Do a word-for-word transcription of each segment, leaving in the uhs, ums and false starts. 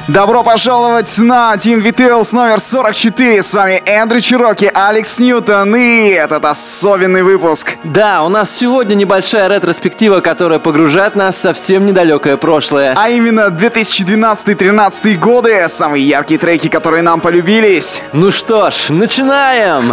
Добро пожаловать на Team Details номер сорок четыре. С вами Эндрю Чироки, Алекс Ньютон, и этот особенный выпуск. Да, у нас сегодня небольшая ретроспектива, которая погружает нас в совсем недалекое прошлое. А именно две тысячи двенадцатый-тринадцатый годы, самые яркие треки, которые нам полюбились. Ну что ж, начинаем!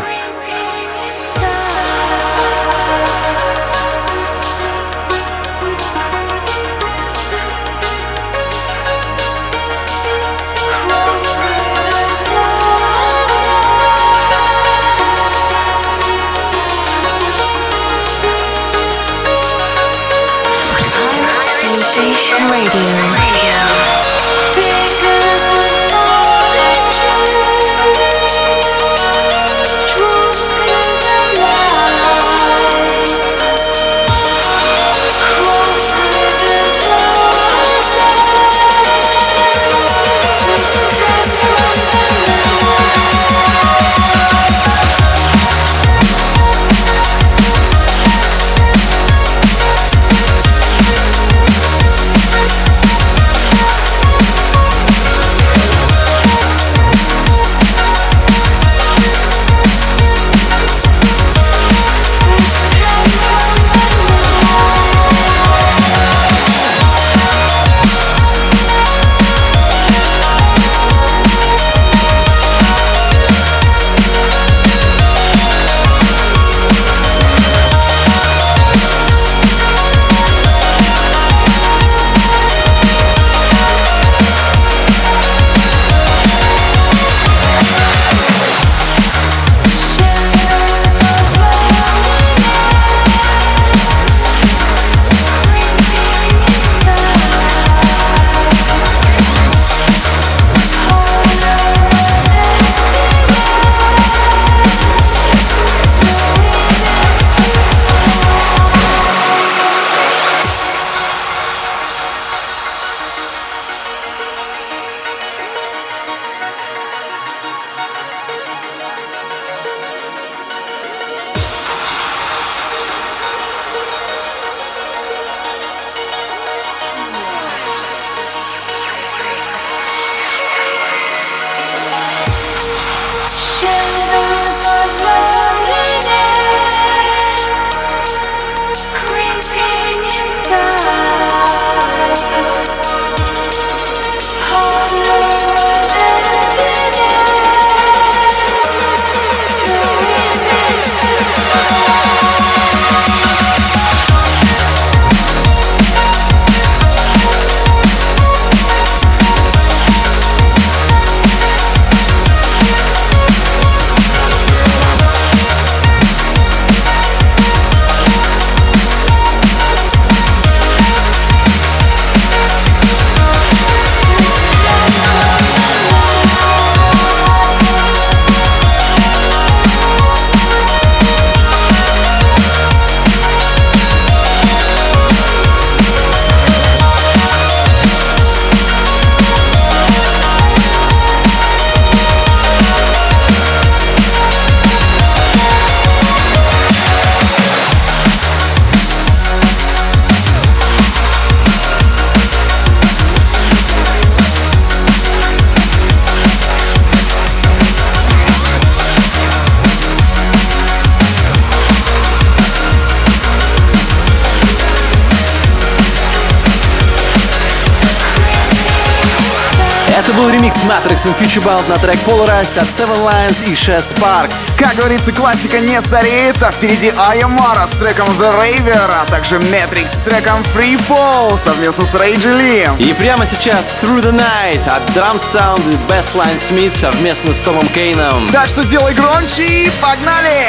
Это был ремикс Matrix and Futurebound на трек Polarized от Seven Lions и Chess Sparks. Как говорится, классика не стареет, а впереди Ayamara с треком The Raver, а также Matrix с треком Free Fall совместно с Рейджи Ли. И прямо сейчас Through the Night от Drum Sound и Bassline Smith совместно с Томом Кейном. Так что делай громче и погнали!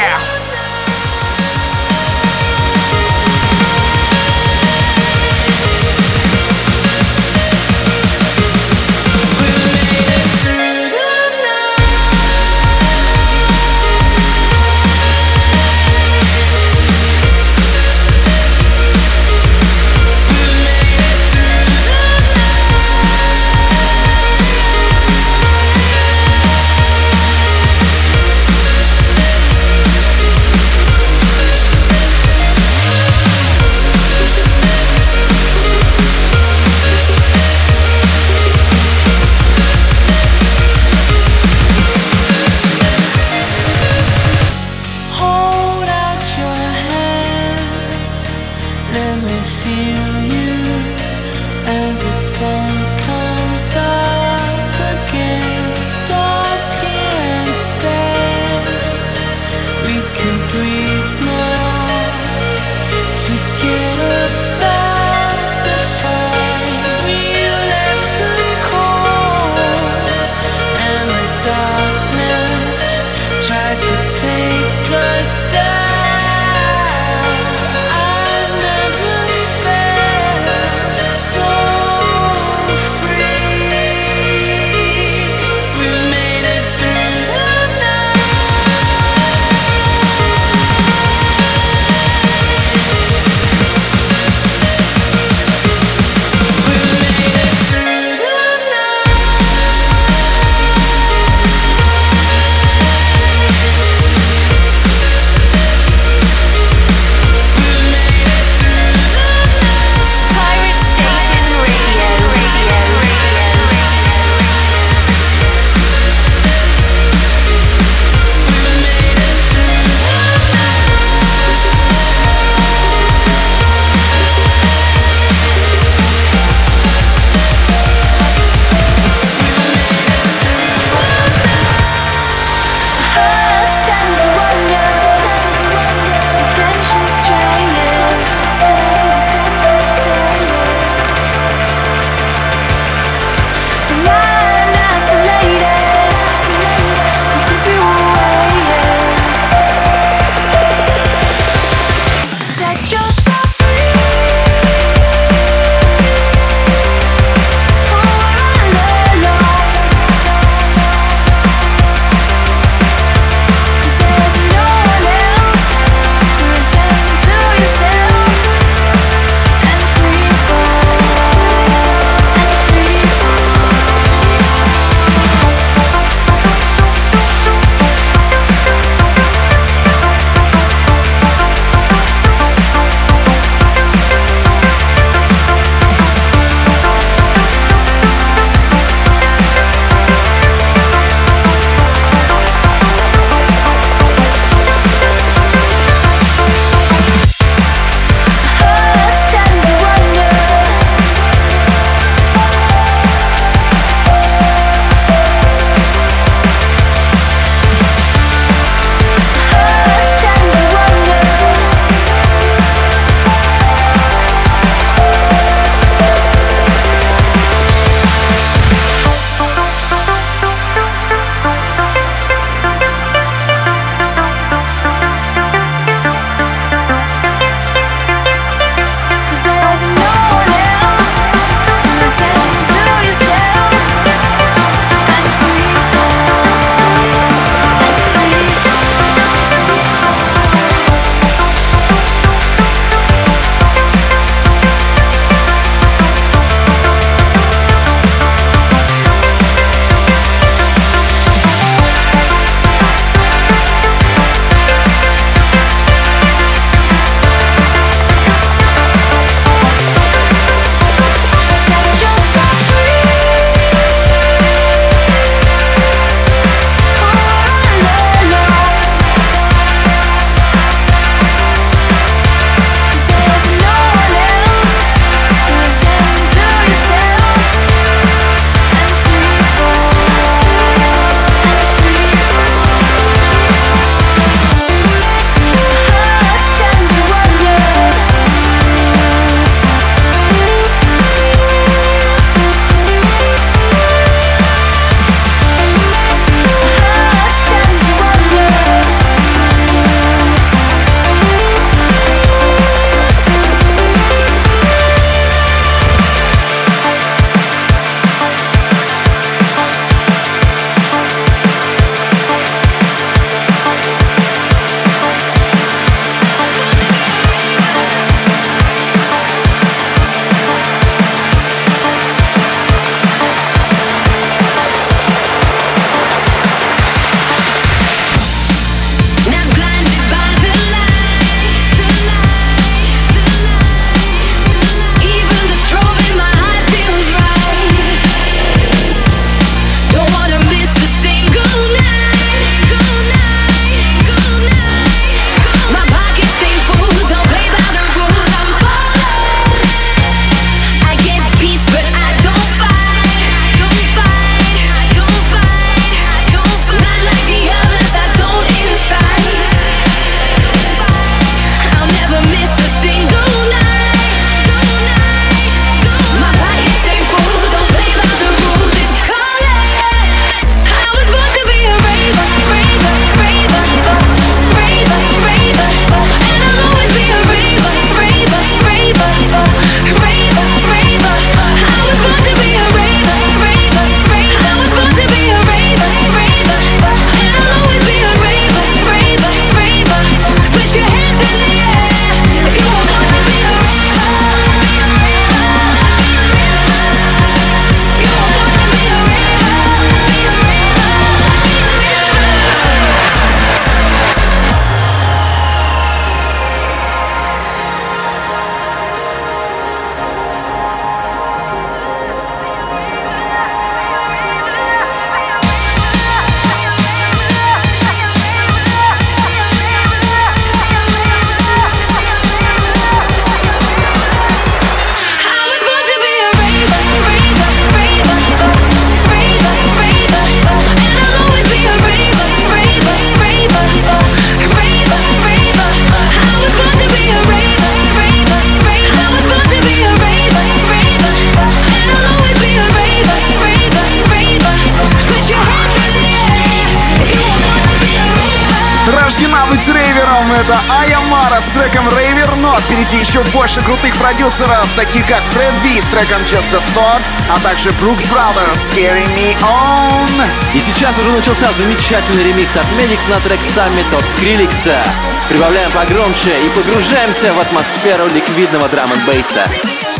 Итогом это Айомара с треком Raver, но впереди еще больше крутых продюсеров, таких как Фред Би с треком Just a Thought, а также Brooks Brothers Carry Me On. И сейчас уже начался замечательный ремикс от Medix на трек Summit от Скриликса. Прибавляем погромче и погружаемся в атмосферу ликвидного драм-н-бейса.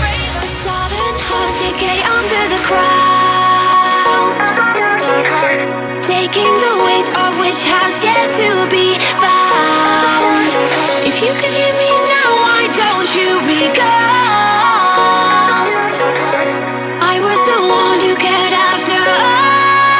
Taking the weight of which has yet to be found. If you could hear me now, why don't you recall? I was the one you cared after all.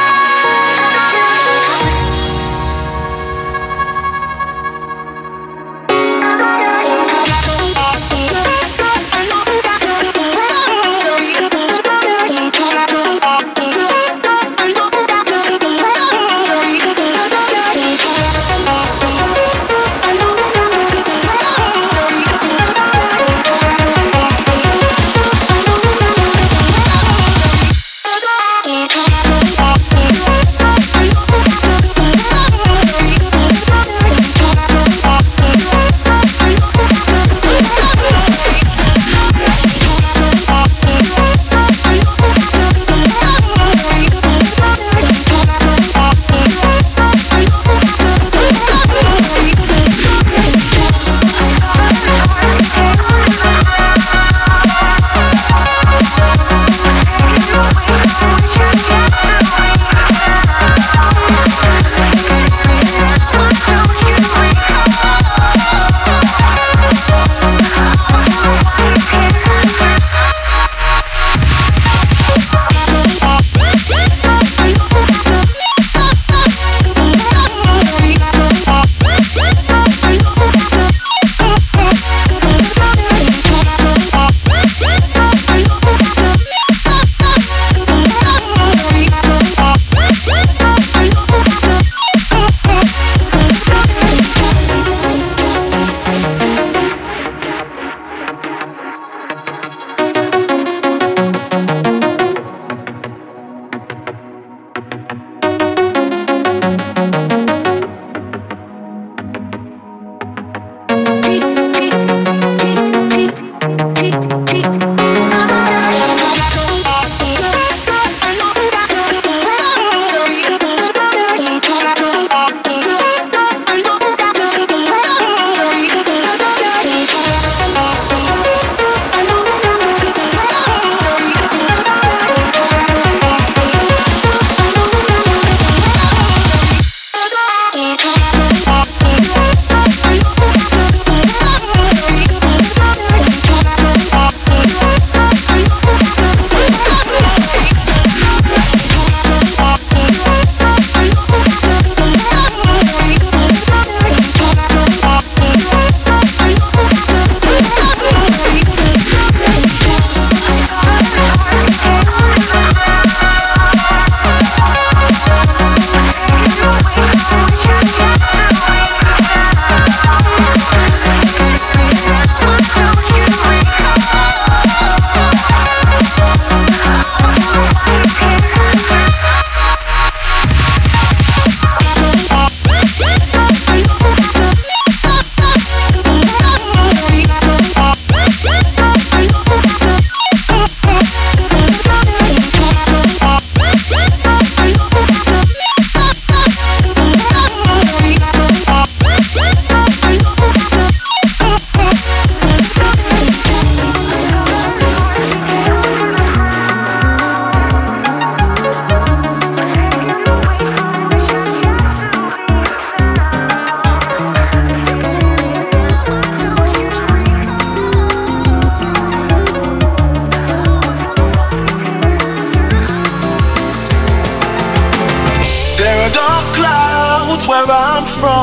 where I'm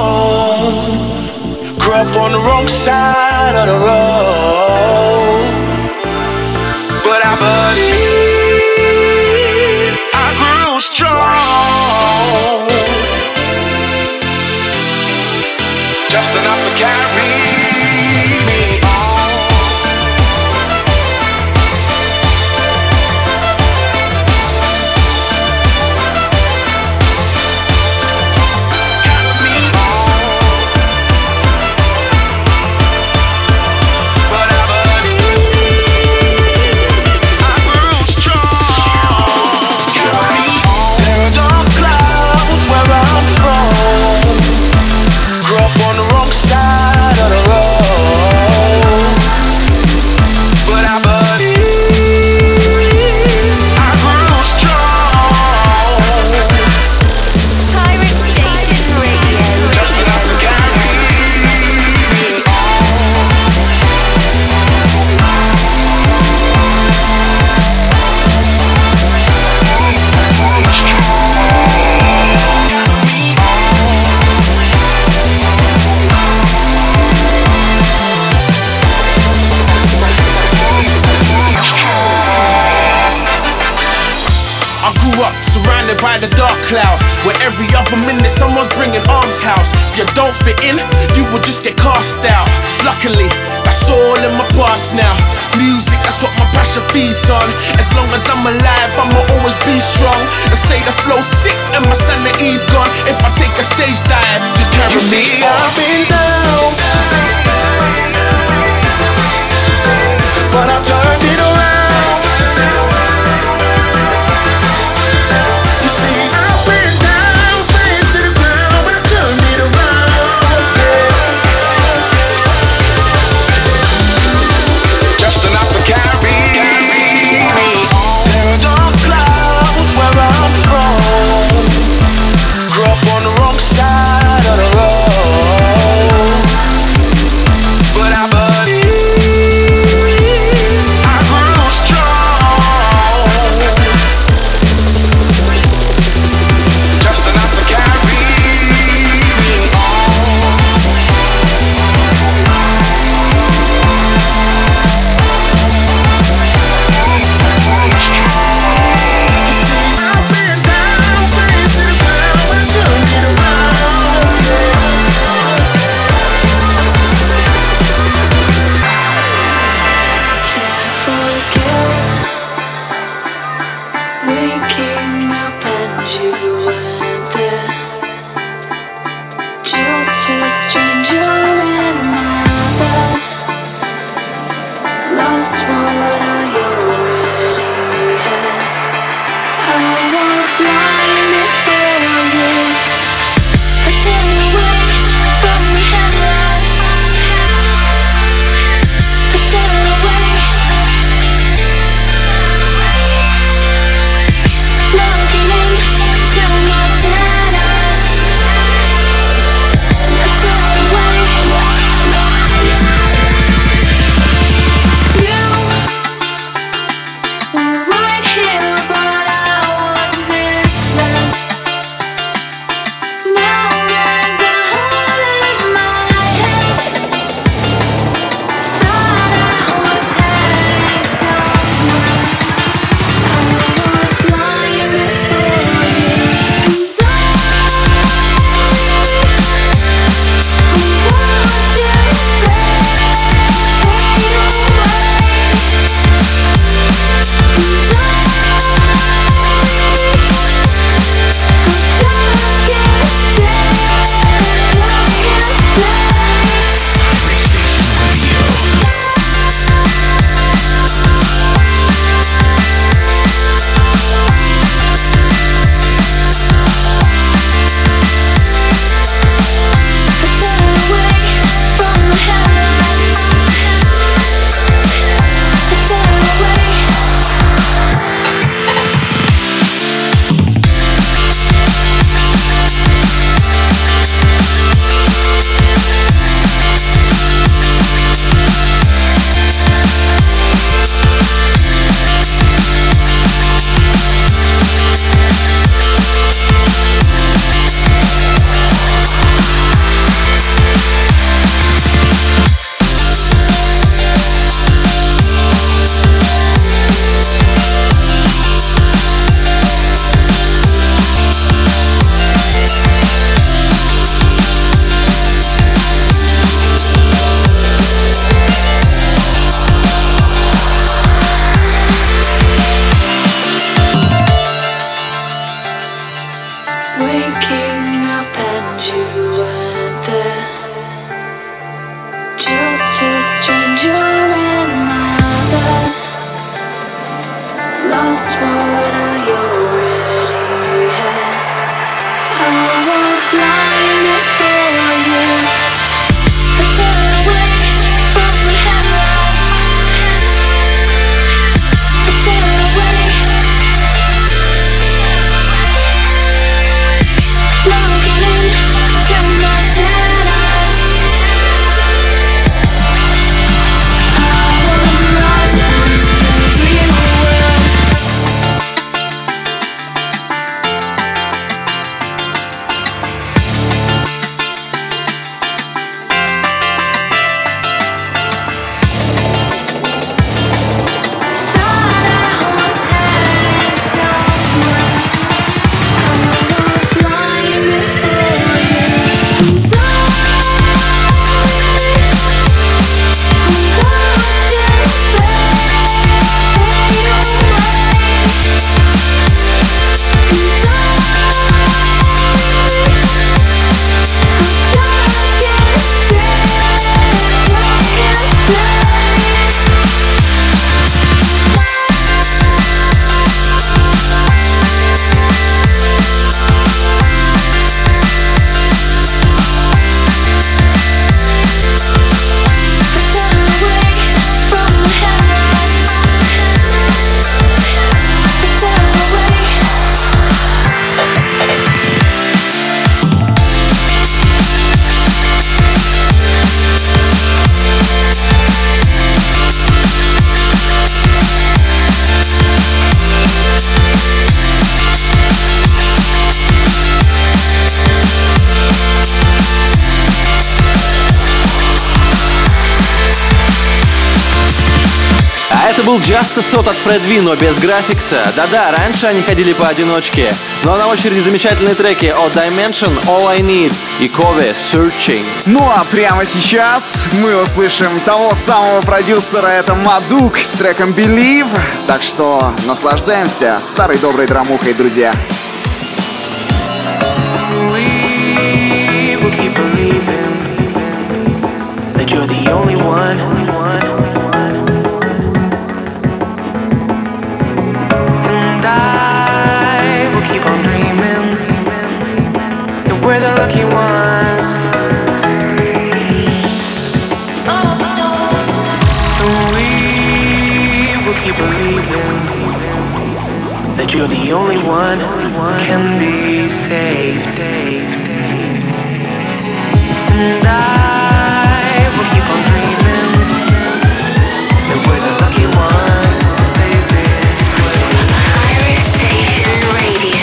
from. Grew up on the wrong side of the road, but I believe I grew strong, just enough to carry me on. Carry me on. I grew up surrounded by the dark clouds, where every other minute someone's bringing arms house. If you don't fit in, you will just get cast out. Luckily, that's all in my past now. Music, that's what my passion feeds on. As long as I'm alive, I'ma always be strong. They say the flow's sick and my sanity's gone. If I take a stage dive, you carry me on. I've been down, but I turned it around. You see, I've been down, face to the ground, but I turned it around. Just enough to carry me. Dark clouds where I'm from. был Just a Thought от Fred V, но без графикса. Да-да, раньше они ходили поодиночке. Но на очереди замечательные треки от Dimension, All I Need и Kobe, Searching. Ну а прямо сейчас мы услышим того самого продюсера, это Мадук с треком Believe. Так что наслаждаемся старой доброй драмухой, друзья. We will keep believing that you're the only one. And I will keep on dreaming that we're the lucky ones. And we will keep believing that you're the only one who can be saved. And I will keep on dreaming that we're the lucky ones to stay this way. Pirate Station Radio.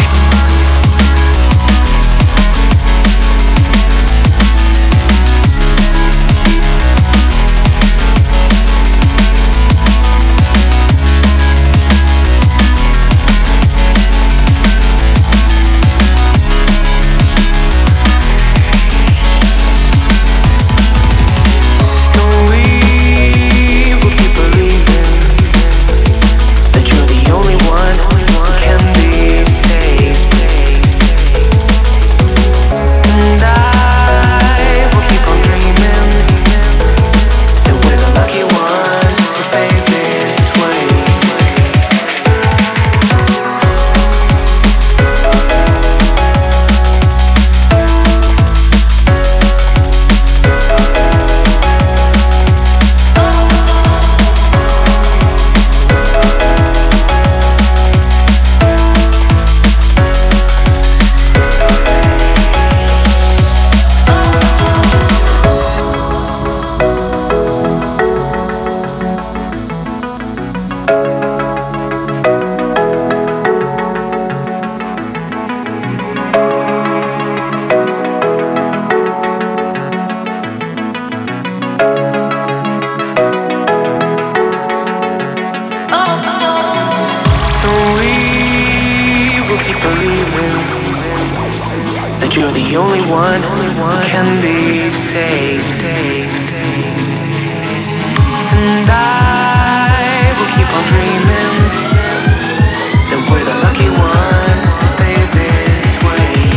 You're the only one who can be saved. And I will keep on dreaming that we're the lucky ones who stay this way.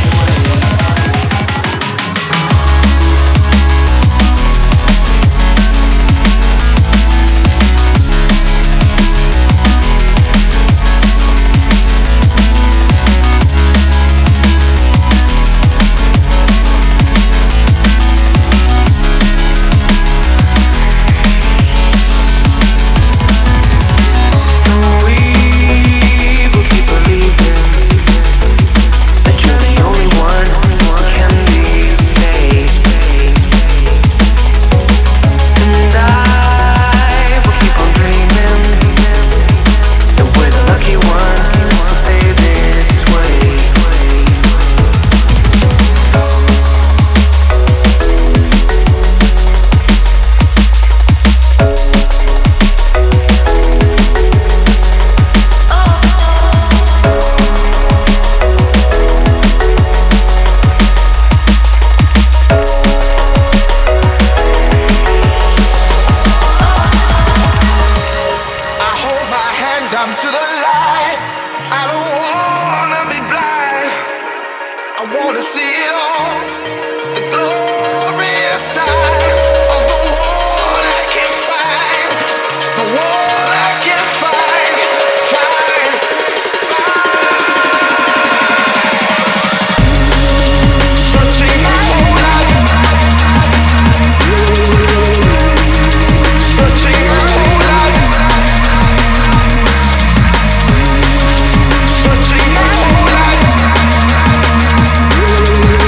Searching my whole life.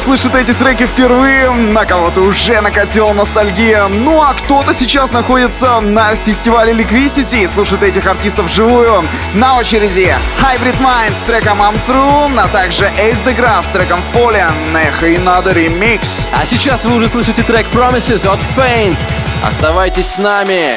слышит эти треки впервые, на кого-то уже накатила ностальгия. Ну а кто-то сейчас находится на фестивале Liquicity и слушает этих артистов вживую. На очереди Hybrid Mind с треком I'm Through, а также Ace the Graph с треком Fallen, и надо ремикс. А сейчас вы уже слышите трек Promises от Faint. Оставайтесь с нами.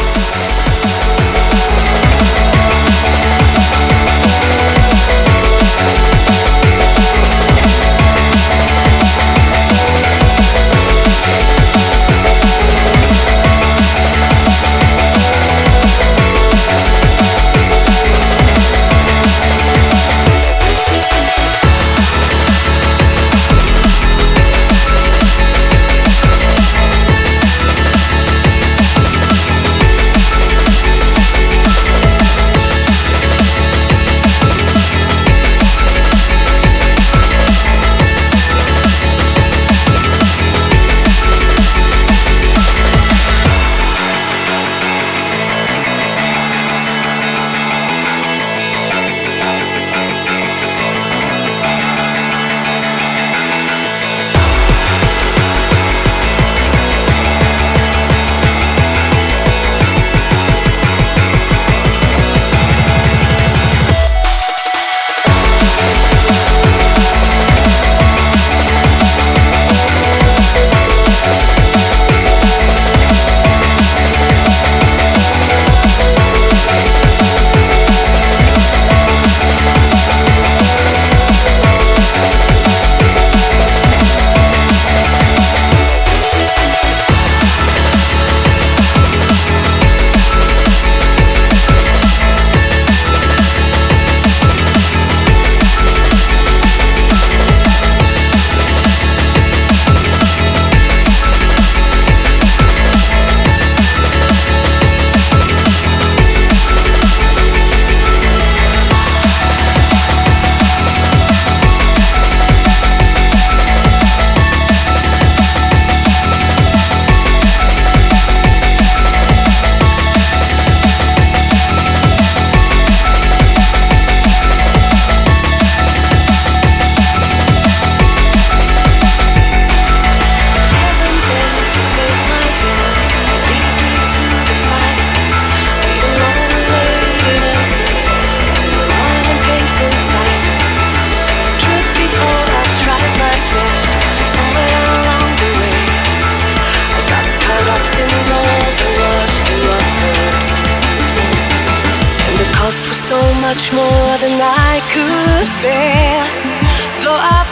Much more than I could bear. Though I've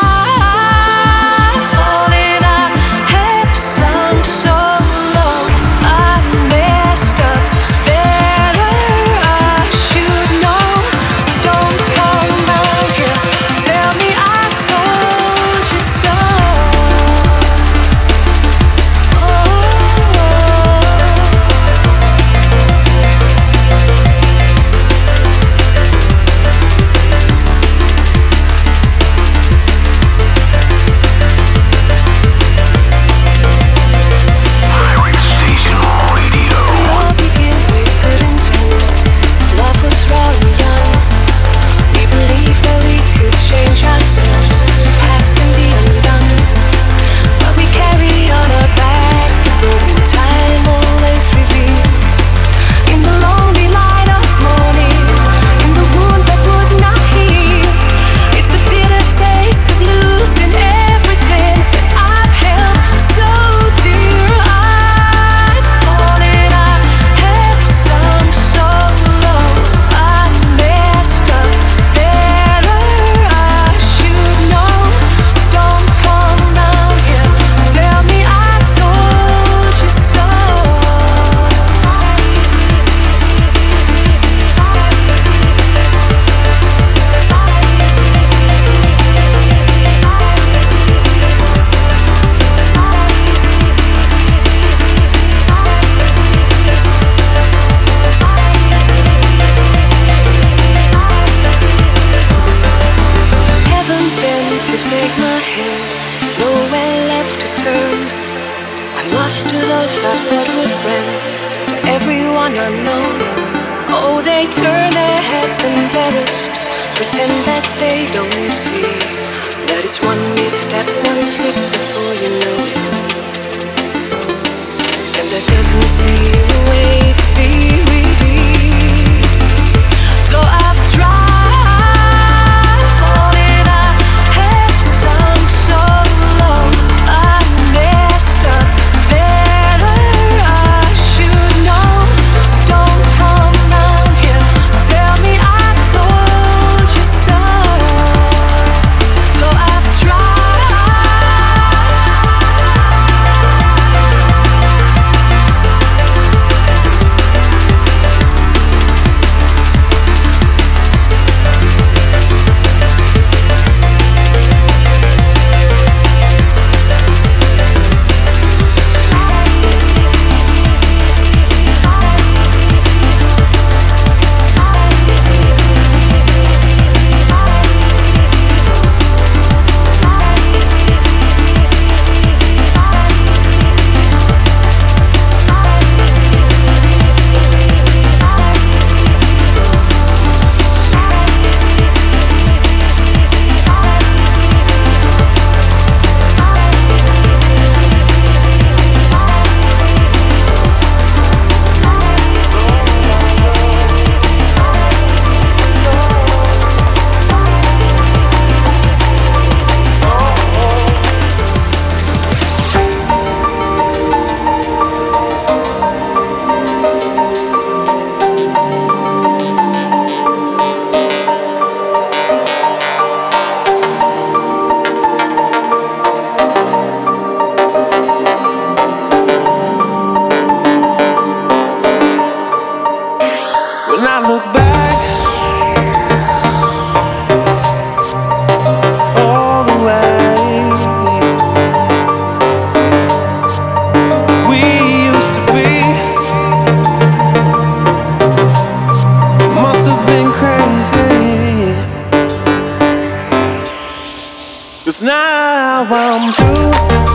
tried falling, I have sunk so low. I messed up. Better I should know. So don't come round here. Tell me I told you so. Pretend that they don't see that it's one misstep 'Cause now I'm through.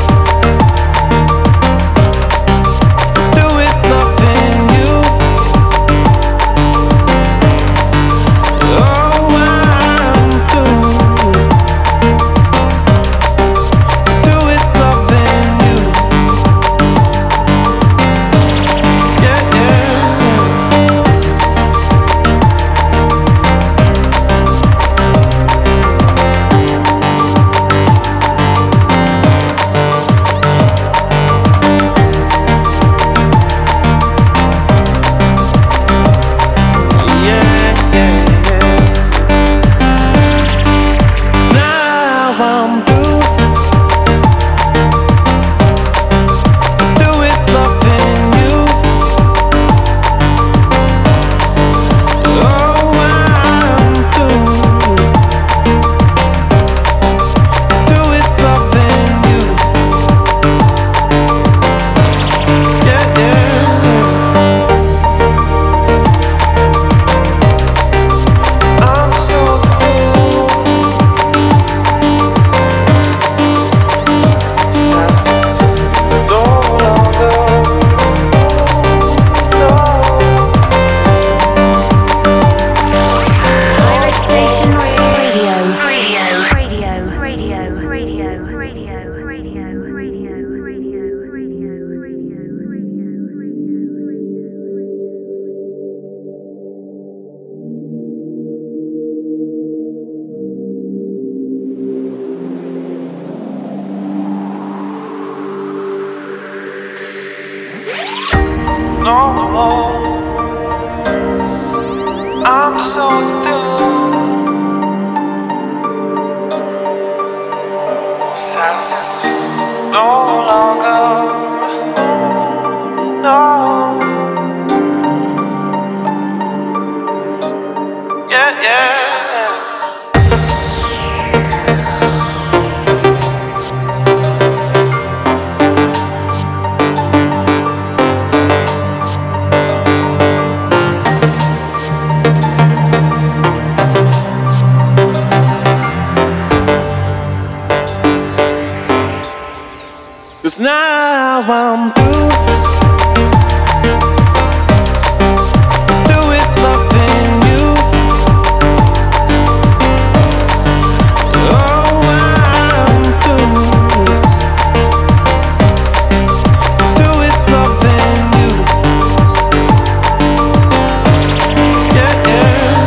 No more. I'm so through. Silence is no longer. No. Yeah, yeah. Cause now I'm through. Through with loving you. Oh, I'm through. Through with loving you. Yeah, yeah.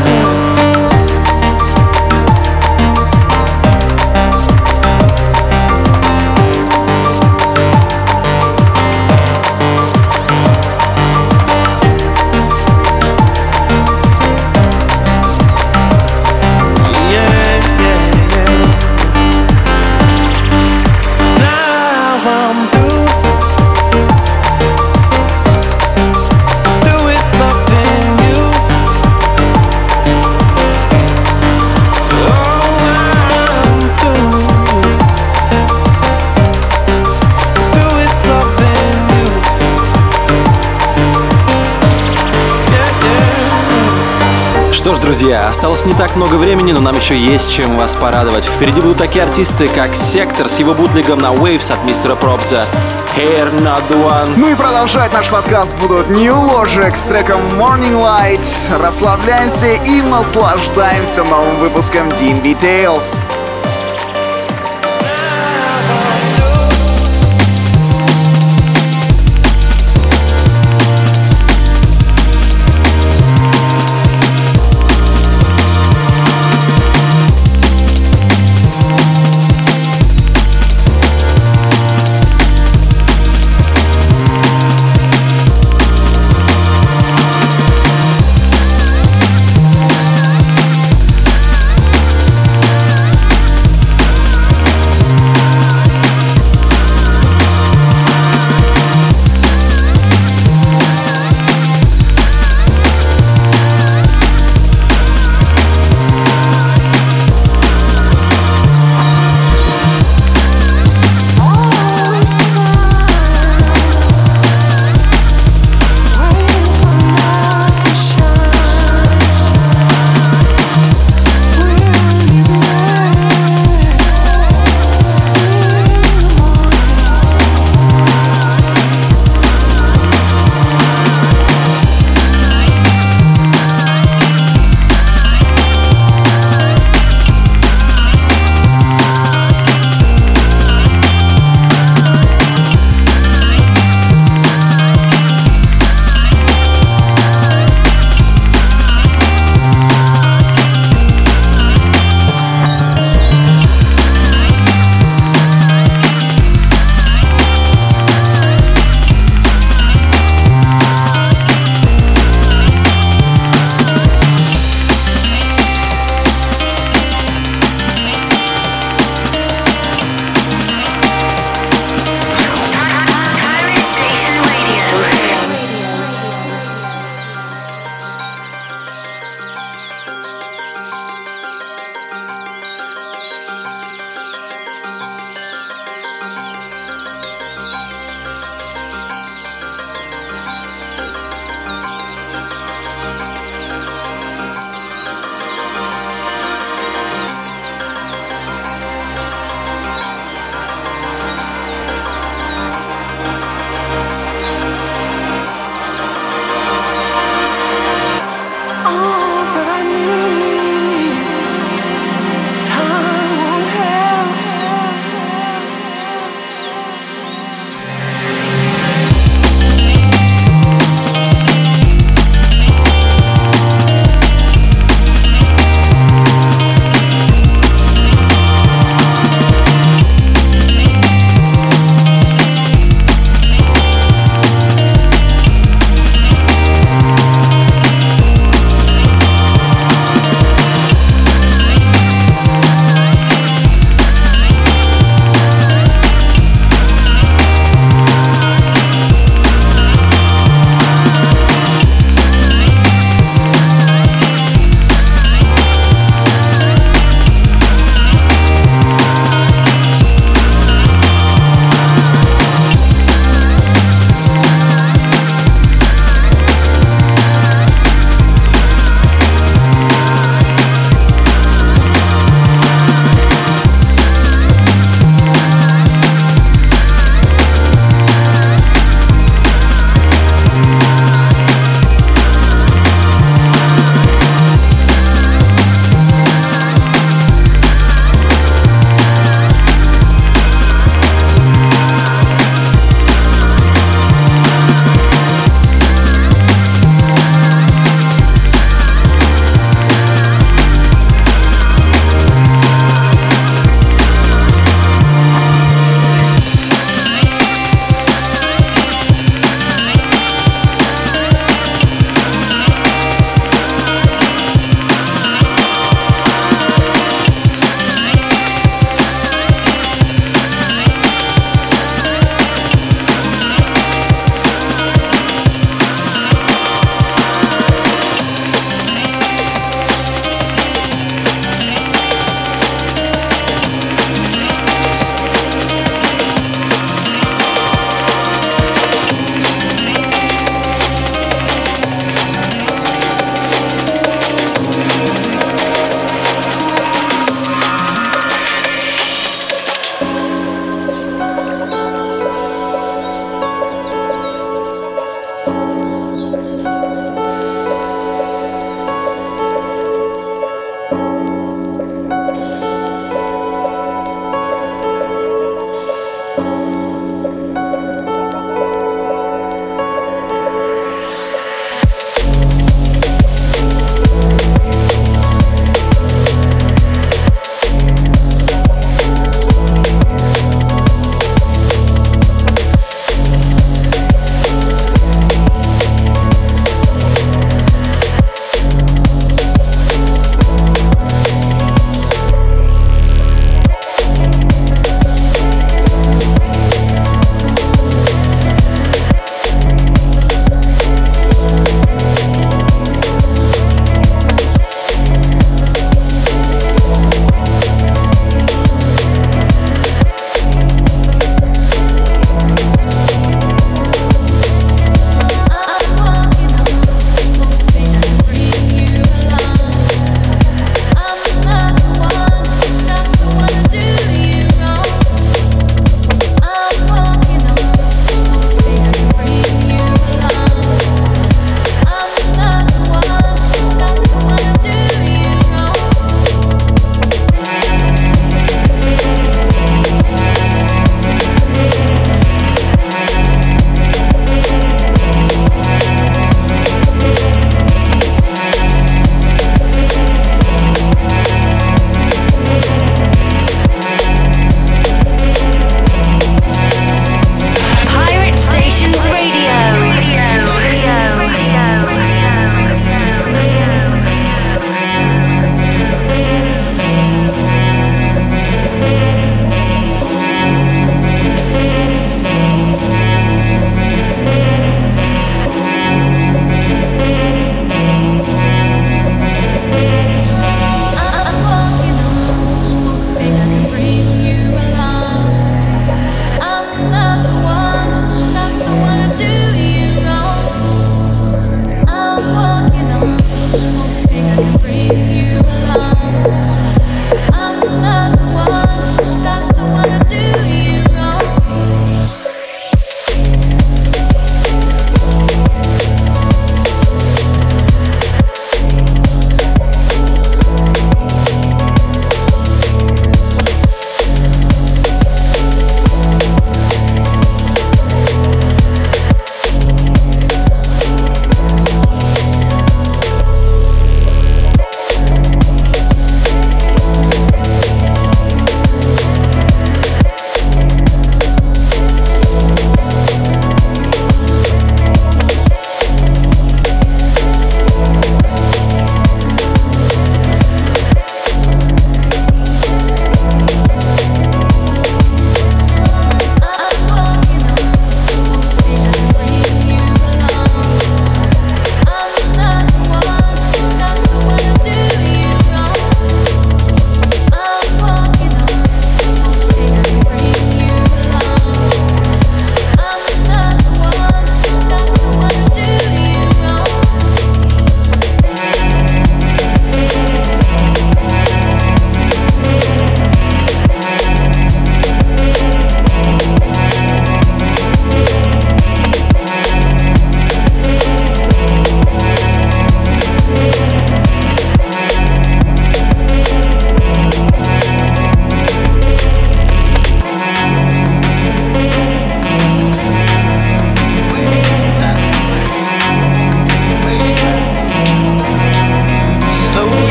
Что ж, друзья, осталось не так много времени, но нам еще есть чем вас порадовать. Впереди будут такие артисты, как Сектор с его бутлегом на Waves от мистера Пробза, Hair Not The One. Ну и продолжать наш подкаст будут New Logic с треком Morning Light. Расслабляемся и наслаждаемся новым выпуском ди энд би Tales.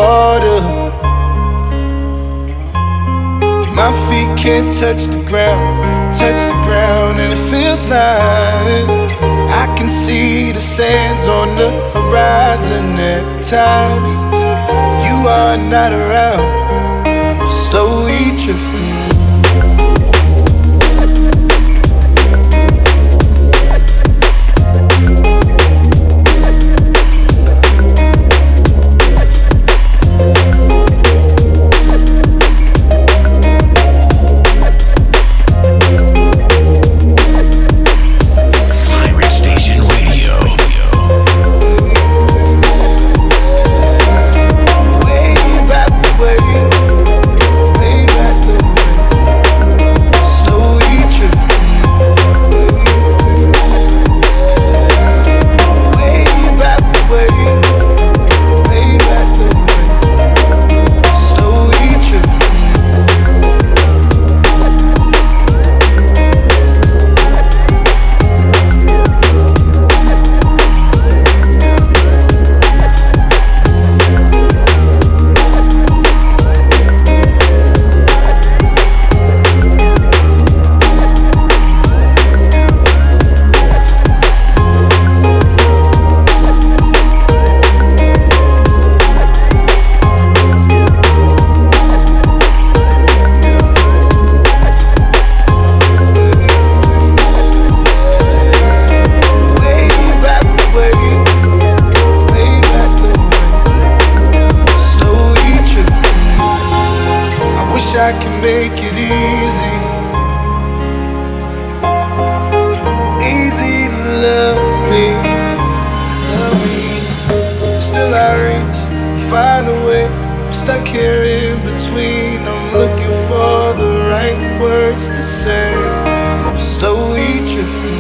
water. My feet can't touch the ground, touch the ground, and it feels like I can see the sands on the horizon every time you are not around. I'm slowly drifting. I can make it easy, easy to love me, love me. Still I reach, find a way. I'm stuck here in between. I'm looking for the right words to say. I'm slowly drifting.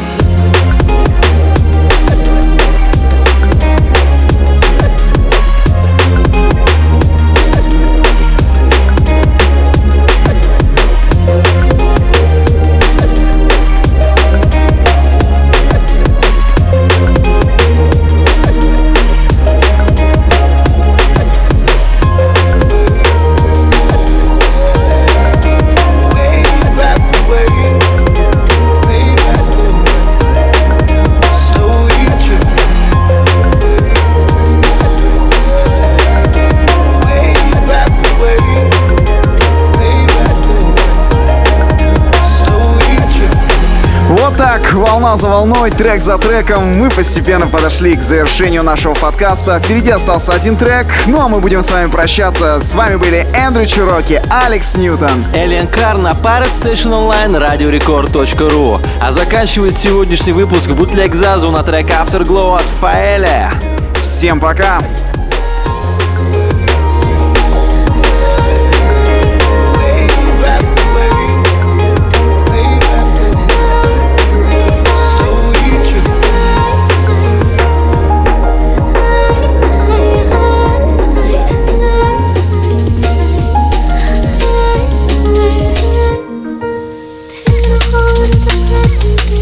Так, волна за волной, трек за треком, мы постепенно подошли к завершению нашего подкаста. Впереди остался один трек, ну а мы будем с вами прощаться. С вами были Эндрю Чироки, Алекс Ньютон, Элиан Кар на Pirate Station Online, радио рекорд точка ру. А заканчивает сегодняшний выпуск бутлег Зазу на трек Afterglow от Фаэля. Всем пока!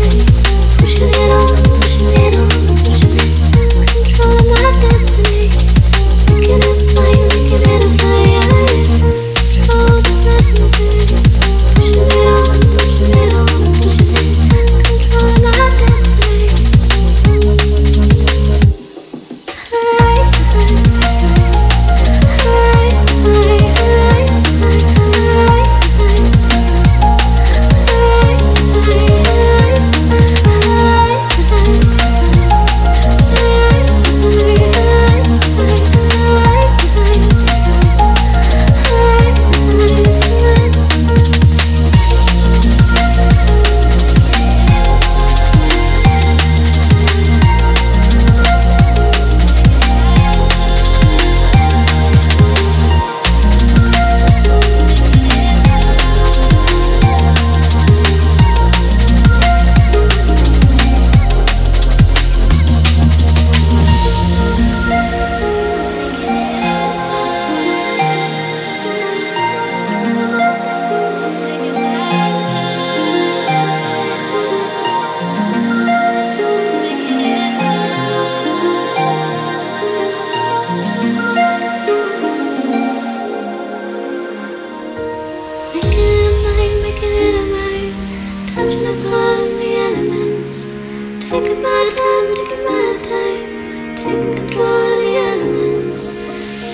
Pushing it on, pushing it on, pushing it. Controlling my destiny.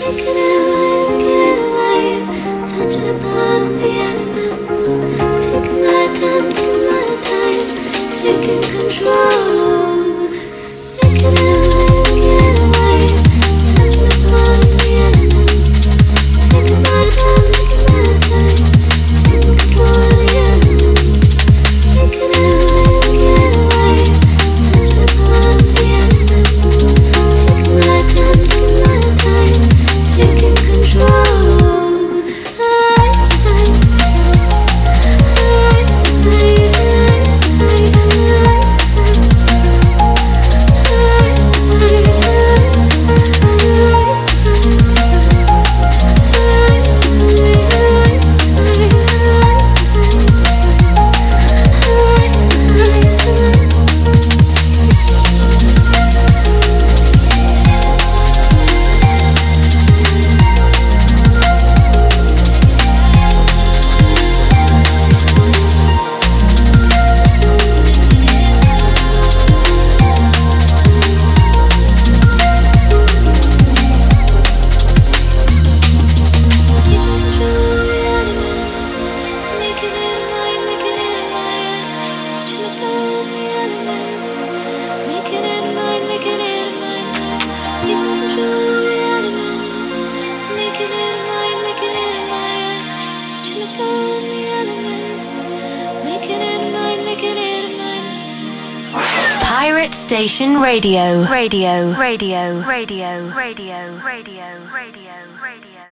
Station Radio. Radio. Radio. Radio. Radio. Radio. Radio.